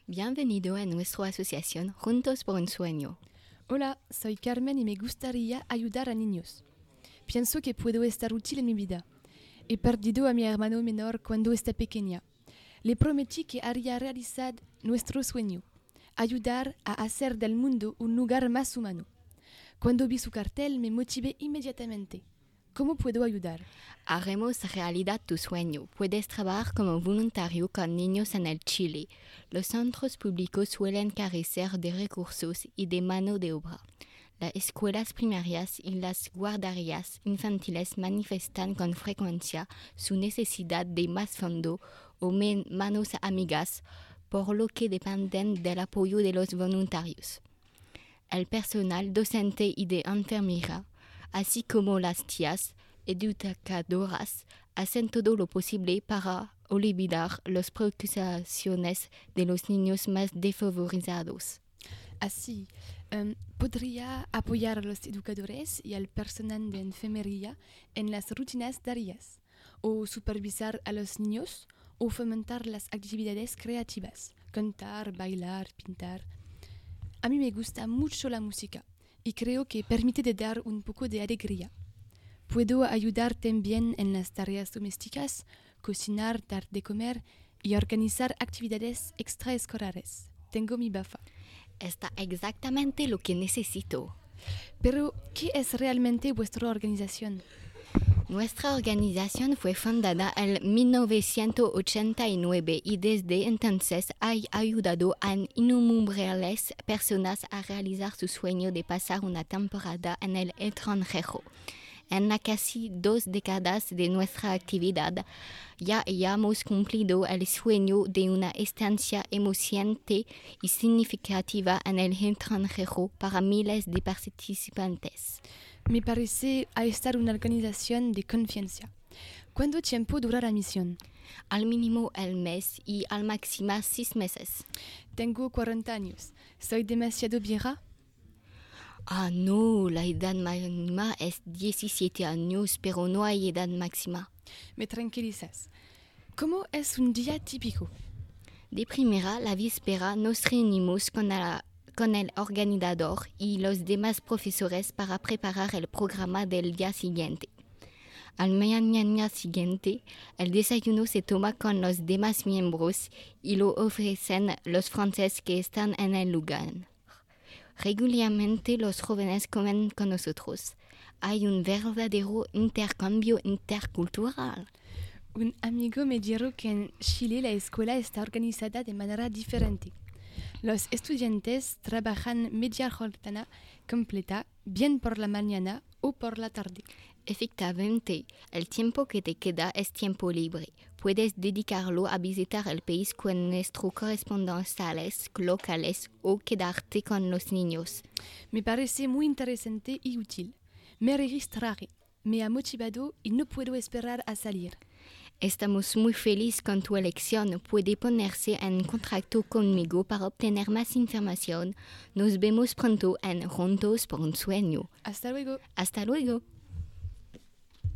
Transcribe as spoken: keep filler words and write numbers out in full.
Bienvenido a nuestra asociación Juntos por un Sueño. Hola, soy Carmen y me gustaría ayudar a niños. Pienso que puedo estar útil en mi vida. He perdido a mi hermano menor cuando estaba pequeña. Le prometí que haría realizar nuestro sueño, ayudar a hacer del mundo un lugar más humano. Cuando vi su cartel me motivé inmediatamente. ¿Cómo puedo ayudar? Haremos realidad tu sueño. Puedes trabajar como voluntario con niños en el Chile. Los centros públicos suelen carecer de recursos y de mano de obra. Las escuelas primarias y las guarderías infantiles manifiestan con frecuencia su necesidad de más fondo o men- manos amigas, por lo que dependen del apoyo de los voluntarios. El personal docente y de enfermería, así como las tías educadoras, hacen todo lo posible para olvidar las preocupaciones de los niños más desfavorizados. Así, um, podría apoyar a los educadores y al personal de enfermería en las rutinas diarias, o supervisar a los niños, o fomentar las actividades creativas, cantar, bailar, pintar. A mí me gusta mucho la música y creo que permite de dar un poco de alegría. Puedo ayudar también en las tareas domésticas, cocinar, dar de comer y organizar actividades extraescolares. Tengo mi bafa. Está exactamente lo que necesito. Pero, ¿qué es realmente vuestra organización? Nuestra organización fue fundada en mil novecientos ochenta y nueve y desde entonces ha ayudado a innumerables personas a realizar su sueño de pasar una temporada en el extranjero. En las casi dos décadas de nuestra actividad ya hayamos cumplido el sueño de una estancia emocionante y significativa en el extranjero para miles de participantes. Me parece a estar una organización de confianza. ¿Cuánto tiempo dura la misión? Al mínimo el mes y al máximo seis meses. Tengo cuarenta años. ¿Soy demasiado vieja? Ah, no, la edad mínima es diecisiete años, pero no hay edad máxima. Me tranquilizas. ¿Cómo es un día típico? De primera, la víspera nos reunimos con, la, con el organizador y los demás profesores para preparar el programa del día siguiente. Al mañana siguiente, el desayuno se toma con los demás miembros y lo ofrecen los franceses que están en el lugar. Regularmente los jóvenes comen con nosotros. Hay un verdadero intercambio intercultural. Un amigo me dijo que en Chile la escuela está organizada de manera diferente. Los estudiantes trabajan media jornada completa, bien por la mañana o por la tarde. Efectivamente, el tiempo que te queda es tiempo libre. Puedes dedicarlo a visitar el país con nuestros corresponsales locales o quedarte con los niños. Me parece muy interesante y útil. Me registraré. Me ha motivado y no puedo esperar a salir. Estamos muy felices con tu elección. Puede ponerse en contacto conmigo para obtener más información. Nos vemos pronto en Juntos por un Sueño. Hasta luego. Hasta luego.